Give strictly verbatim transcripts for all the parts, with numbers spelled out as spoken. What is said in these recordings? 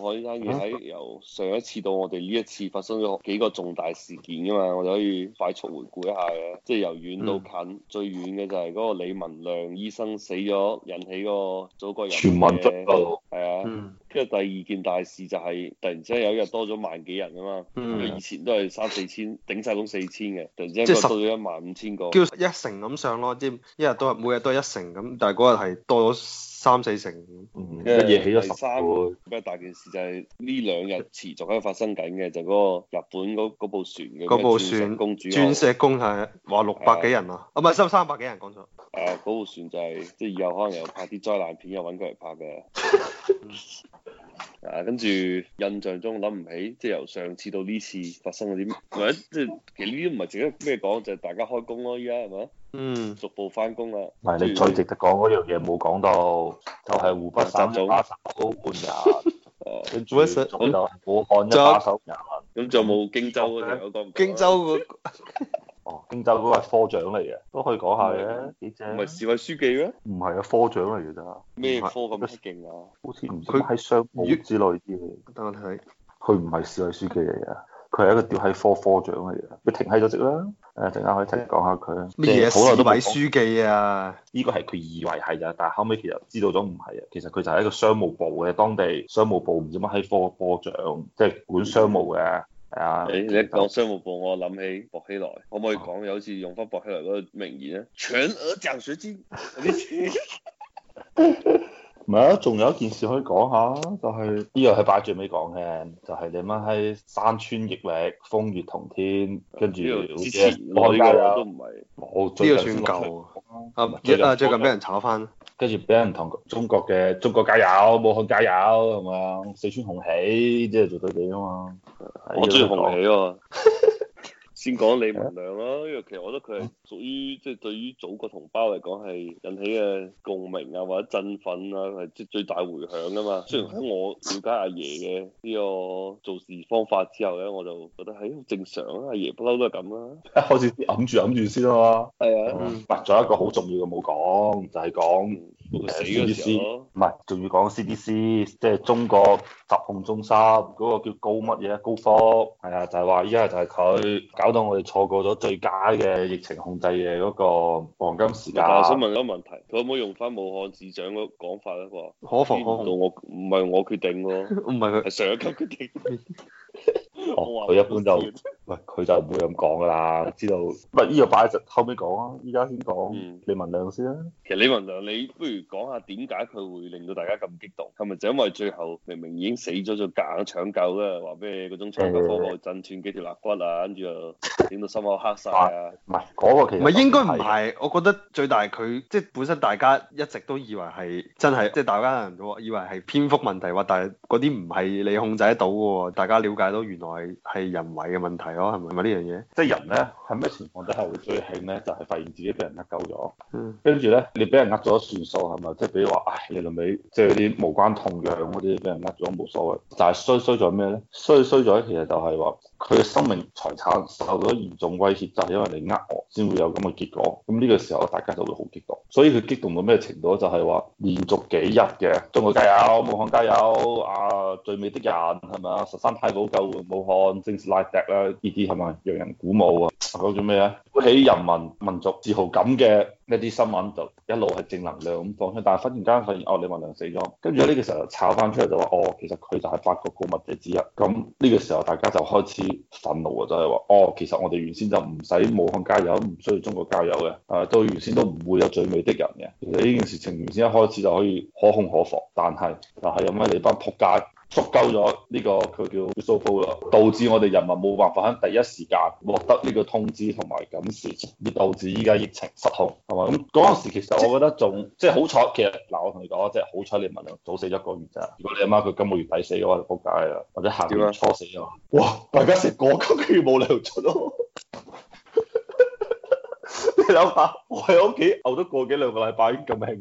海呢單嘢喺由上一次到我哋呢一次發生咗幾個重大事件噶嘛，我哋可以快速回顧一下嘅。即係由遠到近，嗯、最遠嘅就係嗰個李文亮醫生死咗，引起嗰個祖國人民嘅係啊。跟住、嗯、第二件大事就係突然之間有一日多咗萬幾人啊嘛，因為、嗯、以前都係三四千，頂晒工四千嘅，突然之間多咗一萬五千個， 叫一成咁上咯，即係一日都係每日都係一成咁，但係嗰日係多咗三四成， 嗯、一夜起咗十倍。比較大件事就係呢兩日持續喺度發生緊嘅，就嗰、是、個日本嗰部船嘅嗰部船公主鑽石公係話六百幾人啊，啊唔係收三百幾人講錯。 誒嗰部船就係、是、即係以後可能又拍啲災難片，又揾佢嚟拍嘅。啊，跟住印象中諗唔起，即係由上次到呢次發生嗰啲，或者即係其實呢啲唔係值得咩講，就係、是、大家開工咯，依家係咪？嗯，逐步翻工啦。 唔係你最值得講嗰樣嘢冇講到，就係、是、湖北省嘅把手半人，誒，跟住仲有武漢一把手人， 咁仲有冇荊州嗰條？我講荊州嗰哦，荊州嗰個係科長嚟嘅，都可以講下嘅，幾正。 唔係市委書記咩？ 唔係啊，科長嚟嘅咋？ 咩科咁勁啊？ 好似唔知喺商務之類啲嘅。 等我睇， 佢唔係市委書記嚟嘅，佢係一個屌閪科科長嚟嘅。佢停喺咗職啦。誒，陣間可以聽講下佢。 咩嘢市委書記啊？ 呢個係佢以為係咋，但係後尾其實知道咗唔係啊。其實佢就係一個商務部嘅當地商務部唔知乜閪科科長，即係管商務嘅。係啊， 誒，你一講商務部，我諗起薄熙來，可唔可以講有好似用翻薄熙來嗰個名言咧？全額獎學金嗰啲錢。 唔係啊，仲有一件事可以講下，就係呢個係擺最尾講嘅，就係、是、你媽喺山川逆歷，風月同天，跟住之前我呢個都唔係， 呢個算舊啊，最啊最近俾人炒翻， 跟住俾人同中國嘅中國加油，武漢加油係嘛，四川紅起，即係做對比啊嘛， 我中意紅起喎。先講李文亮啦，因為其實我覺得佢係屬於即係、就是、對於祖國同胞嚟講係引起嘅共鳴啊或者振奮啊係即係最大迴響噶嘛。雖然喺我了解阿爺嘅呢個做事方法之後咧，我就覺得係好正常啊，阿爺不嬲都係咁啦。 一開始揞住揞住先啊嘛。 係啊。 唔係，仲有一個好重要嘅冇講，就係、是、講。 死嗰時候， 唔係，仲要講 C D C，即係中國疾控中心嗰、那個叫高乜嘢高科，係啊，就係話依家就係佢搞到我哋錯過咗最佳嘅疫情控制嘅嗰個黃金時間。 但我想問一個問題，佢可唔可以用翻武漢市長嗰講法咧？話可防可控， 我唔係我決定喎， 唔係佢係上一級決定。 哦，佢一般就，喂，佢就唔會咁講噶啦，知道。唔係呢個擺就後尾講啊，依家先講李文亮先啦。 其實李文亮，你不如講下點解佢會令到大家咁激動？係咪就因為最後明明已經死咗，就夾硬搶救咧？話咩嗰種搶救方法震斷幾條肋骨啊，跟住又整到心口黑晒啊？ 唔係嗰個其實唔係應該唔係，我覺得最大佢即係本身大家一直都以為係真係，即係大家人都以為係蝙蝠問題喎，但係嗰啲唔係你控制得到嘅喎，大家了解到原來係人為嘅問題咯，係咪咪呢樣嘢？ 即係人咧喺咩情況底下會最興咧？就係、是、發現自己俾人呃鳩咗，跟住咧你俾人呃咗算數係咪？即係比如話，唉，你老尾即係啲無關痛癢嗰啲俾人呃咗冇所謂，但係衰衰咗咩咧？衰衰咗其實就係話佢嘅生命財產受到嚴重威脅，就係因為你呃我先會有咁嘅結果。咁呢個時候大家就會好激動，所以佢激動到咩程度？就係話連續幾日嘅中國加油、武漢加油啊，最美的人係咪啊？十三太保救援武漢，正是 like that 啦，呢啲係咪讓人鼓舞啊？講咗咩啊？鼓起人民民族自豪感嘅一啲新聞就一路係正能量咁放出，但係忽然間發現哦，李文亮死咗，跟住呢個時候就炒翻出嚟就話哦，其實佢就係八個告密者之一。咁呢個時候大家就開始憤怒啊，就係話哦，其實我哋原先就唔使武漢加油，唔需要中國加油嘅，誒，都原先都唔會有最美的人嘅。其實呢件事情原先一開始就可以可控可防，但係就係因為你班仆街捉鳩咗呢個佢叫 whistleblower，導致我哋人民冇辦法喺第一時間獲得呢個通知同埋感示，而導致依家疫情失控，係嘛？咁嗰陣時其實我覺得仲即係好彩，其實嗱我同你講，即係好彩李文亮早死一個月咋。如果你阿媽佢今個月底死嘅話，就仆街啦，或者下個月初死嘅話，哇！大家食過今個月冇糧出咯。你諗下，我喺屋企熬咗個幾兩個禮拜已經咁興啦，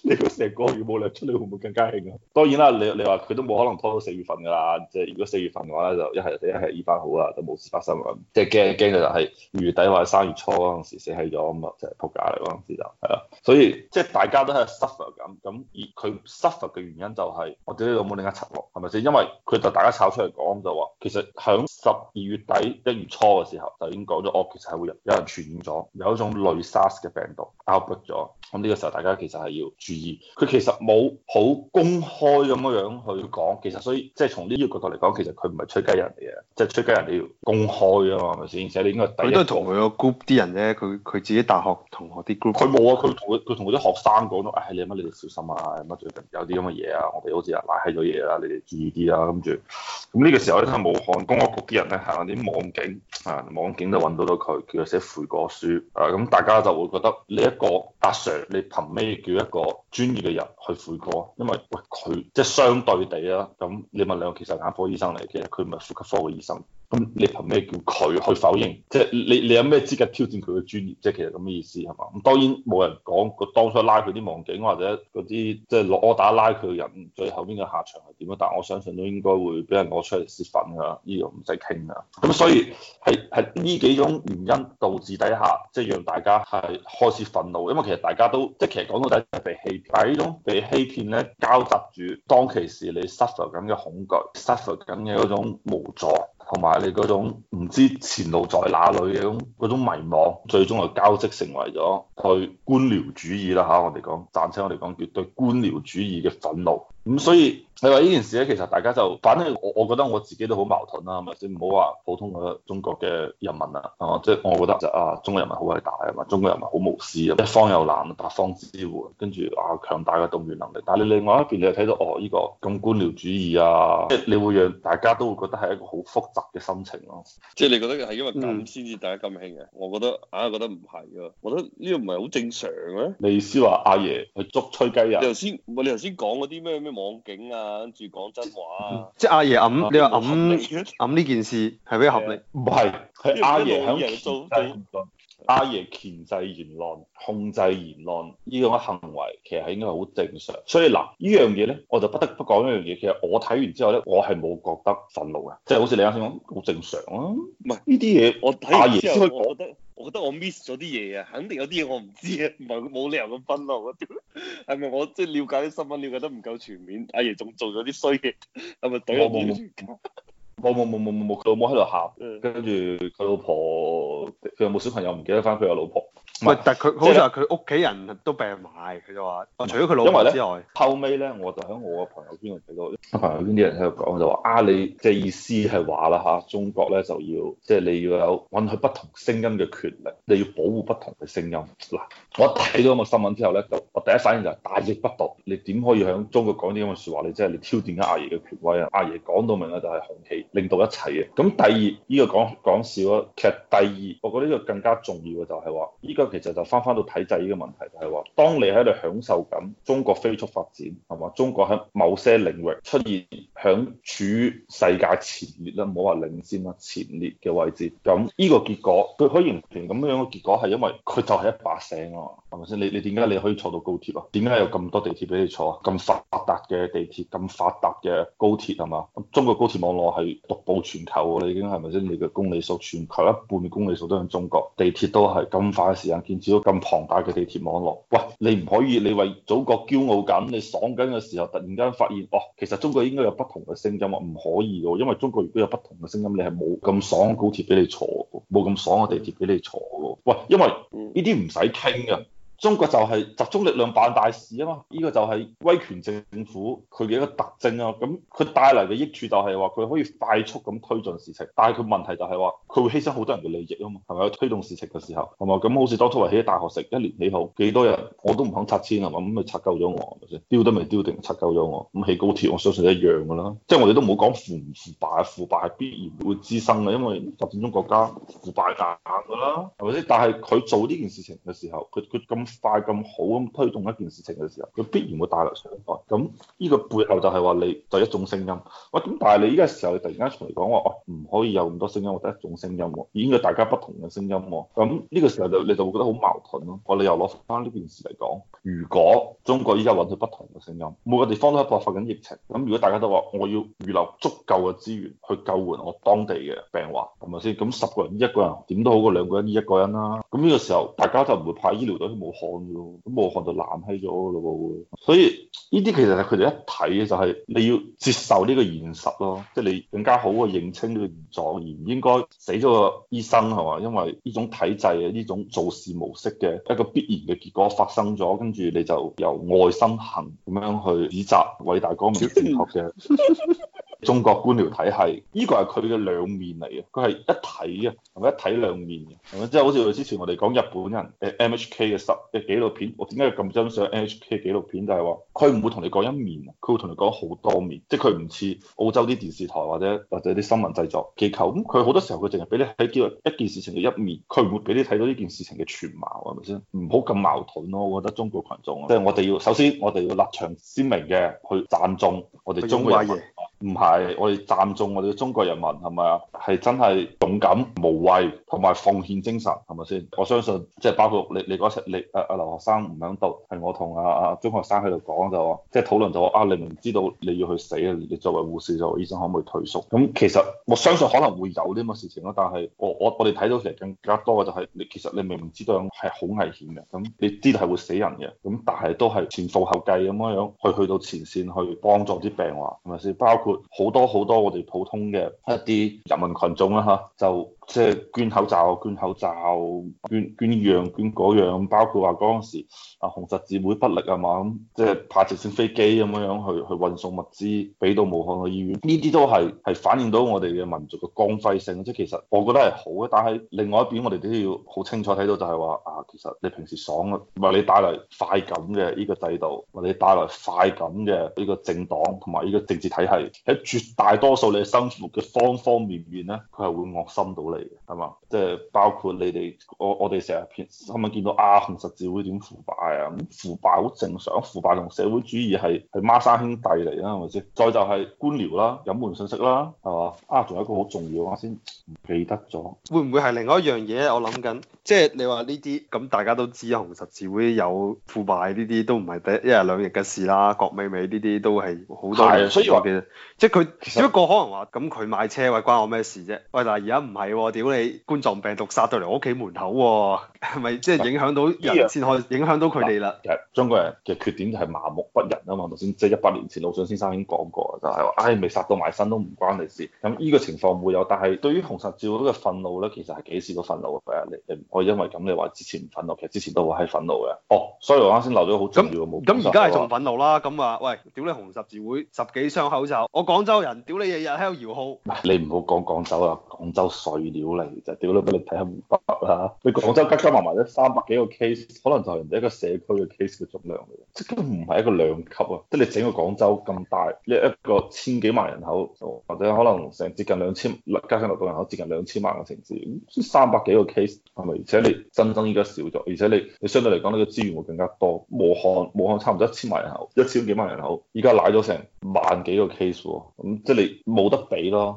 你個成個月冇糧出，你會唔會更加興啊？當然啦，你你話佢都冇可能拖到四月份㗎啦。即係如果四月份嘅話咧，就一係死一係醫翻好啦，就冇事發生啦。即係驚驚嘅就係二月底或者三月初嗰陣時死閪咗咁啊，就係撲街嚟嗰陣時就係啦。所以即係大家都係 suffer 咁，咁而佢 suffer 嘅原因就係我哋呢度冇另一層落，係咪先？因為佢就大家炒出嚟講就話，其實響十二月底一月初嘅時候就已經講咗，哦，其實係會有有人傳染咗，有一種類 SARS 嘅病毒 outbreak 咗。咁呢個時候大家其實係要注意，佢其實冇好公開咁樣樣去講，其實所以即係從呢個角度嚟講，其實佢唔係吹雞人嚟嘅，即係吹雞人你要公開啊嘛，係咪先？而且你應該第一，佢都係同佢個 group 啲人啫，佢佢自己大學同學啲 group。 佢冇啊，佢同佢佢同嗰啲學生講咗，唉、哎，你乜你哋小心啊，乜最近有啲咁嘅嘢啊，我哋好似啊拉閪咗嘢啦，你哋注意啲啦，跟住咁呢個時候咧，喺武漢公安局啲人咧行啲網警啊，網警就揾到咗佢，叫佢寫悔過書啊，咁大家就會覺得你一個阿 Sir，你憑咩叫一個專業嘅人去悔過？因為喂佢即係相對地啦，咁你問兩個其實眼科醫生嚟嘅，佢唔係呼吸科嘅醫生。咁你憑咩叫佢去否認？即係你你有咩資格挑戰佢嘅專業？即係其實咁嘅意思係嘛？咁當然冇人講佢當初拉佢啲網警或者嗰啲即係落 order 拉佢嘅人，最後邊嘅下場係點樣？但係我相信都應該會俾人攞出嚟泄憤㗎，呢個唔使傾㗎。咁所以係係呢幾種原因導致底下，即係讓大家係開始憤怒，因為其實大家都即係其實講到底係被欺騙，但係呢種被欺騙咧交雜住當其時你 suffer 緊嘅恐懼 suffer 緊嘅嗰種無助。同埋你嗰種唔知前路在哪裏嘅嗰種嗰種迷茫，最終就交織成為咗對官僚主義啦嚇，我哋講暫且我哋講叫對官僚主義嘅憤怒。咁所以你話呢件事咧，其實大家就反正我我覺得我自己都好矛盾啦，係咪先？唔好話普通嘅中國嘅人民啊，啊即係我覺得就啊中國人民好偉大啊嘛，中國人民好無私啊，一方有難八方支援，跟住啊強大嘅動員能力。但係你另外一邊你又睇到哦呢個咁官僚主義啊，即係你會讓大家都會覺得係一個好複雜嘅心情咯。 即係你覺得係因為咁先至大家咁興嘅？我覺得硬係覺得唔係㗎，我覺得呢個唔係好正常嘅。 你意思話阿爺去捉吹雞人？ 你頭先唔係你頭先講嗰啲咩咩網警啊，跟住講真話啊， 即係阿爺揞，你話合理揞揞呢件事係比較合理？ 唔係，係阿爺響人做做。 阿爺鉗制言論、控制言論呢種行為，其實係應該係好正常。所以嗱，呢樣嘢咧，我就不得不講一樣嘢。其實我睇完之後咧，我係冇覺得憤怒嘅，即係好似你啱先講，好正常啊。唔係呢啲嘢， 我睇完之後，我覺得我覺得我 miss 咗啲嘢啊，肯定有啲嘢我唔知啊，唔係冇理由咁憤怒啊。係咪我即係了解啲新聞了解得唔夠全面？阿爺仲做咗啲衰嘢，係咪懟我冇冇冇冇冇冇冇冇，佢老母喺度喊，跟住佢老婆，佢有冇小朋友唔記得翻佢有老婆。 喂，但係佢好似話佢屋企人都病埋，佢就話，除咗佢老婆之外， 後尾咧我就喺我嘅朋友圈度睇到，朋友圈啲人喺度講就話啊，你即係意思係話啦嚇，中國咧就要即係你要有允許不同聲音嘅權力，你要保護不同嘅聲音。嗱，我一睇到咁嘅新聞之後咧，就我第一反應就係大逆不道，你點可以喺中國講啲咁嘅説話？你即係你挑戰緊阿爺嘅權威啊！阿爺講到明啦，就係紅旗領導一切嘅。咁第二呢、呢個講講笑啊，其實第二我覺得呢個更加重要嘅就係話，依家其實就翻翻到體制呢個問題，就係話，當你喺度享受緊中國飛速發展，係嘛？中國喺某些領域出現響處於世界前列啦，唔好話領先啦，前列嘅位置。咁呢個結果，佢可以形成咁樣嘅結果，係因為佢就係一把聲啊，係咪先？你你點解你可以坐到高鐵啊？點解有咁多地鐵俾你坐啊？咁發達嘅地鐵，咁發達嘅高鐵係嘛？中國高鐵網絡係獨步全球，你已經係咪先？你嘅公里數，全球一半嘅公里數都喺中國，地鐵都係咁快嘅時間建設到咁龐大嘅地鐵網絡。喂，你唔可以，你為祖國驕傲緊，你爽緊嘅時候，突然間發現，哦，其實中國應該有不同嘅聲音啊，唔可以嘅，因為中國如果有不同嘅聲音，你係冇咁爽嘅高鐵俾你坐，冇咁爽嘅地鐵俾你坐嘅。喂，因為呢啲唔使傾嘅。中國就係集中力量辦大事啊嘛，呢、這個就係威權政府佢嘅一個特徵啊。咁佢帶嚟嘅益處就係話佢可以快速咁推進事情，但係佢問題就係話佢會犧牲好多人嘅利益啊嘛，係咪？推動事情嘅時候係嘛？咁好似當初話起大學城一年起好幾多人，我都唔肯拆遷係嘛，咁咪拆夠咗我係咪先？丟都未丟定拆夠咗我，咁起高鐵我相信一樣㗎啦。即係我哋都冇講腐唔腐敗，腐敗係必然會滋生嘅，因為發展中國家腐敗硬㗎啦，係咪先？但係佢做呢件事情嘅時候，佢佢咁快咁好咁推動一件事情嘅時候，佢必然會帶來傷害。咁呢個背後就係話你就一種聲音。喂，咁但係你依家時候你突然間出嚟講話，哦唔可以有咁多聲音，或者一種聲音喎，已經係大家不同嘅聲音喎。咁呢個時候就你就會覺得好矛盾咯。我哋又攞翻呢件事嚟講，如果中國依家揾到不同嘅聲音，每個地方都喺爆發緊疫情，咁如果大家都話我要預留足夠嘅資源去救援我當地嘅病患，係咪先？咁十個人醫一個人點都好過兩個人醫一個人啦。咁呢個時候大家就唔會派醫療隊去武漢嘅咯，咁武漢就爛閪咗嘅咯喎。所以呢啲其實係佢哋一睇嘅就係你要接受呢個現實咯，即係你更加好嘅認清呢個現狀，而唔應該死咗個醫生係嘛？因為呢種體制嘅呢種做事模式嘅一個必然嘅結果發生咗，跟住你就由愛心行咁樣去指責偉大光明正確嘅中國官僚體系，呢個係佢嘅兩面嚟嘅，佢係一體嘅，係咪一體兩面嘅？係咪即係好似之前我哋講日本人誒 M H K 嘅十嘅紀錄片，我點解要咁欣賞 M H K 紀錄片？就係話佢唔會同你講一面，佢會同你講好多面，即係佢唔似澳洲啲電視台或者或者啲新聞製作機構，咁佢好多時候佢淨係俾你睇到一件事情嘅一面，佢唔會俾你睇到呢件事情嘅全貌，係咪先？唔好咁矛盾咯，我覺得中國群眾，即係我哋要首先我哋要立場鮮明嘅去讚頌我哋中國人民。唔係，我哋讚頌我哋嘅中國人民係咪啊？係真係勇敢無畏同埋奉獻精神係咪先？我相信即係包括你你嗰次你阿阿留學生唔喺度，係我同阿阿中學生喺度講就話，即係討論就話啊，你明知道你要去死啊，你作為護士作為醫生可唔可以退縮？咁其實我相信可能會有啲咁嘅事情咯，但係我我我哋睇到其實更加多嘅就係你其實你明明知道係好危險嘅，咁你知道係會死人嘅，咁但係都係前赴後繼咁樣樣去去到前線去幫助啲病患係咪先？包括好多好多我哋普通嘅一啲人民群眾啦嚇，就即係捐口罩、捐口罩、捐捐依樣捐嗰樣，包括話嗰陣時啊紅十字會不力啊嘛，咁即係派直升飛機咁樣樣去去運送物資俾到武漢嘅醫院，呢啲都係係反映到我哋嘅民族嘅光輝性。即係其實我覺得係好嘅，但係另外一邊我哋都要好清楚睇到就係話啊，其實你平時爽啊，為你帶來快感嘅呢個制度，為你帶來快感嘅呢個政黨同埋呢個政治體系，喺絕大多數你生活嘅方方面面咧，佢係會惡心到你嘅，係嘛？即係包括你哋我我哋成日片新聞見到啊紅十字會點腐敗啊，咁腐敗好正常，腐敗同社會主義係係孖生兄弟嚟啦，係咪先？再就係官僚啦、隱瞞信息啦，係嘛？啊，仲有一個好重要嘅，我先唔記得咗。 會唔會係另外一樣嘢？我諗緊，即係你話呢啲咁大家都知紅十字會有腐敗，呢啲都唔係第一日兩日嘅事啦。郭美美呢啲都係好多年，所以話嘅，即係佢只不過可能話咁佢買車喂關我咩事啫？喂，但係而家唔係喎，屌你冠狀病毒殺到嚟我屋企門口喎，係咪即係影響到人先可以影響到佢哋啦？ 其實中國人嘅缺點就係麻木不仁啊嘛，頭先即係一百年前魯迅先生已經講過，就係話唉未殺到埋身都唔關你事。咁呢個情況會有，但係對於紅十字會嘅憤怒咧，其實係幾時都憤怒嘅。你你我因為咁你話之前唔憤怒，其實之前都好閪憤怒嘅。哦，所以我啱先漏咗好重要嘅冇。 咁而家係仲憤怒啦，咁話喂，屌你紅十字會十幾箱口罩，我廣州人，屌你日日喺度搖號。 你唔好講廣州啊，廣州碎料嚟就屌你俾你睇下湖北啦。你廣州加加埋埋咧三百幾個 case，可能就係人哋一個社區嘅 case 嘅總量嚟嘅，即係根本唔係一個兩級啊！即係你整個廣州咁大，一一個千幾萬人口，或者可能成接近兩千加上流動人口接近兩千萬嘅城市，三百幾個 case 係咪？而且你真增依家少咗，而且你你相對嚟講呢個資源會更加多。武漢武漢差唔多一千萬人口，一千幾萬人口，依家賴咗成萬幾個 case 喎，咁即係你冇得比咯。